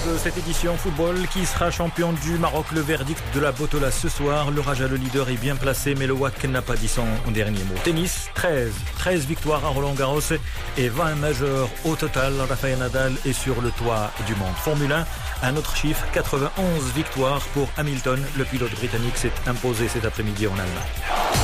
cette édition football. Qui sera champion du Maroc? Le verdict de la Botola ce soir. Le Raja, le leader, est bien placé, mais le WAC n'a pas dit son dernier mot. Tennis, 13 victoires à Roland-Garros et 20 majeurs au total. Rafael Nadal est sur le toit du monde. Formule 1, un autre chiffre, 91 victoires pour Hamilton. Le pilote britannique s'est imposé cet après-midi en Allemagne.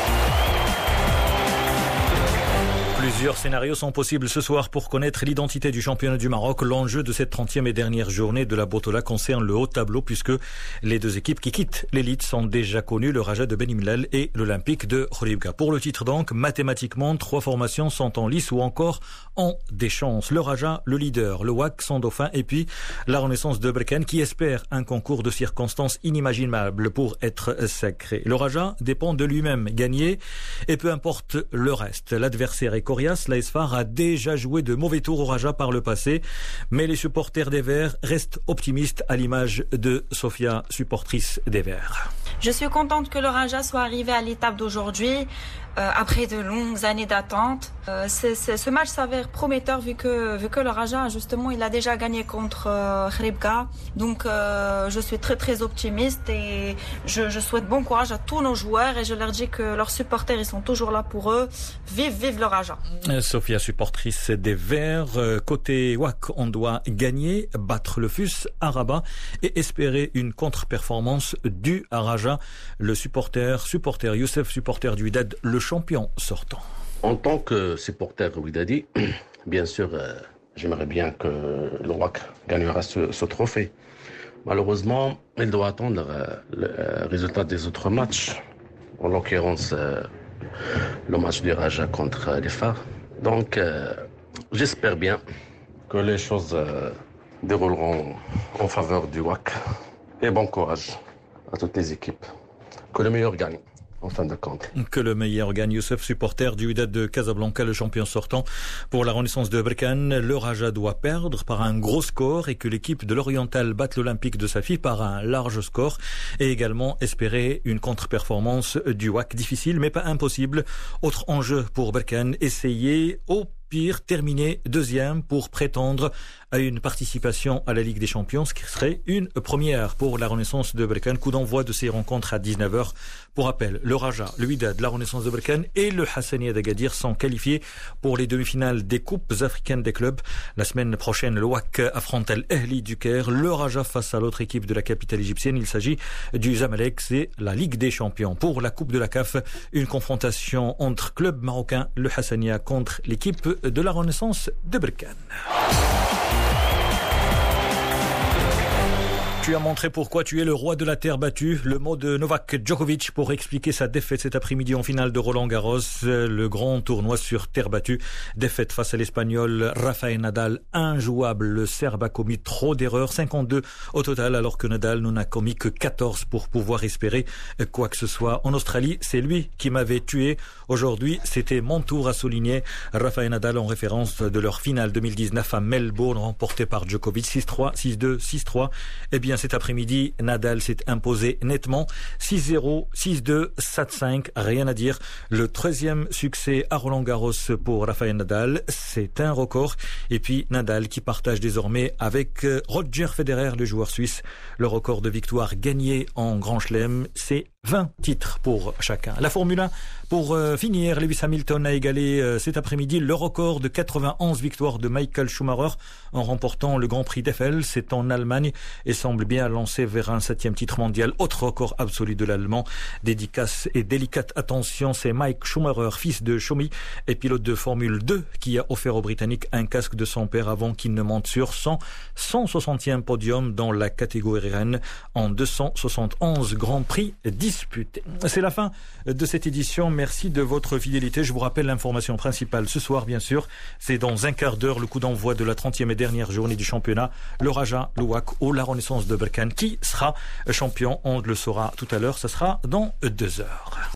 Plusieurs scénarios sont possibles ce soir pour connaître l'identité du championnat du Maroc. L'enjeu de cette 30e et dernière journée de la Botola concerne le haut tableau puisque les deux équipes qui quittent l'élite sont déjà connues, le Raja de Ben Imlal et l'Olympique de Khouribga. Pour le titre donc, mathématiquement, 3 formations sont en lice ou encore ont des chances. Le Raja, le leader, le WAC, son dauphin et puis la Renaissance de Berkane qui espère un concours de circonstances inimaginables pour être sacré. Le Raja dépend de lui-même, gagner et peu importe le reste. L'adversaire est coriace, l'AS FAR a déjà joué de mauvais tours au Raja par le passé, mais les supporters des Verts restent optimistes à l'image de Sofia, supportrice des Verts. Je suis contente que le Raja soit arrivé à l'étape d'aujourd'hui, après de longues années d'attente. Ce match s'avère prometteur vu que le Raja, justement, il a déjà gagné contre Khouribga. Donc je suis très très optimiste et je souhaite bon courage à tous nos joueurs et je leur dis que leurs supporters, ils sont toujours là pour eux. Vive le Raja. Sofia, supportrice des Verts. Côté WAC, on doit gagner, battre le FUS à Rabat et espérer une contre-performance du Raja. Le supporter Youssef, supporter du Wydad, le champion sortant. En tant que supporter Wydadi, bien sûr, j'aimerais bien que le WAC gagnera ce trophée. Malheureusement, il doit attendre le résultat des autres matchs, en l'occurrence le match du Raja contre les FAR. Donc, j'espère bien que les choses dérouleront en faveur du WAC. Et bon courage à toutes les équipes. Que le meilleur gagne. En fin de compte. Que le meilleur gagne. Youssef, supporter du Wydad de Casablanca, le champion sortant. Pour la Renaissance de Berkane, le Raja doit perdre par un gros score et que l'équipe de l'Oriental batte l'Olympique de Safi par un large score et également espérer une contre-performance du WAC. Difficile mais pas impossible. Autre enjeu pour Berkane, essayer au pire terminer deuxième pour prétendre à une participation à la Ligue des Champions, ce qui serait une première pour la Renaissance de Berkane. Coup d'envoi de ces rencontres à 19h. Pour rappel, le Raja, le Wydad, la Renaissance de Berkane et le Hassania d'Agadir sont qualifiés pour les demi-finales des Coupes africaines des clubs. La semaine prochaine, le WAC affronte l'Ahli du Caire, le Raja face à l'autre équipe de la capitale égyptienne. Il s'agit du Zamalek, c'est la Ligue des Champions. Pour la Coupe de la CAF, une confrontation entre clubs marocains, le Hassania contre l'équipe de la Renaissance de Berkane. Tu as montré pourquoi tu es le roi de la terre battue. Le mot de Novak Djokovic pour expliquer sa défaite cet après-midi en finale de Roland-Garros. Le grand tournoi sur terre battue. Défaite face à l'Espagnol Rafael Nadal. Injouable. Le Serbe a commis trop d'erreurs. 52 au total alors que Nadal n'en a commis que 14 pour pouvoir espérer quoi que ce soit. En Australie, c'est lui qui m'avait tué. Aujourd'hui, c'était mon tour à souligner. Rafael Nadal en référence de leur finale 2019 à Melbourne remportée par Djokovic 6-3, 6-2, 6-3. Eh bien, cet après-midi, Nadal s'est imposé nettement 6-0, 6-2, 7-5, rien à dire. Le 13e succès à Roland-Garros pour Rafael Nadal, c'est un record. Et puis Nadal qui partage désormais avec Roger Federer, le joueur suisse, le record de victoires gagnées en Grand Chelem. C'est 20 titres pour chacun. La Formule 1, pour finir, Lewis Hamilton a égalé cet après-midi le record de 91 victoires de Michael Schumacher en remportant le Grand Prix d'Eiffel. C'est en Allemagne et semble bien lancé vers un 7e titre mondial. Autre record absolu de l'Allemand. Dédicace et délicate attention, c'est Mike Schumacher, fils de Schumi et pilote de Formule 2 qui a offert aux Britanniques un casque de son père avant qu'il ne monte sur son 160e podium dans la catégorie Rennes en 271 Grands Prix disputés. C'est la fin de cette édition. Merci de votre fidélité. Je vous rappelle l'information principale ce soir, bien sûr. C'est dans un quart d'heure le coup d'envoi de la 30e et dernière journée du championnat. Le Raja, le WAC ou la Renaissance de Berkane qui sera champion. On le saura tout à l'heure. Ça sera dans 2 heures.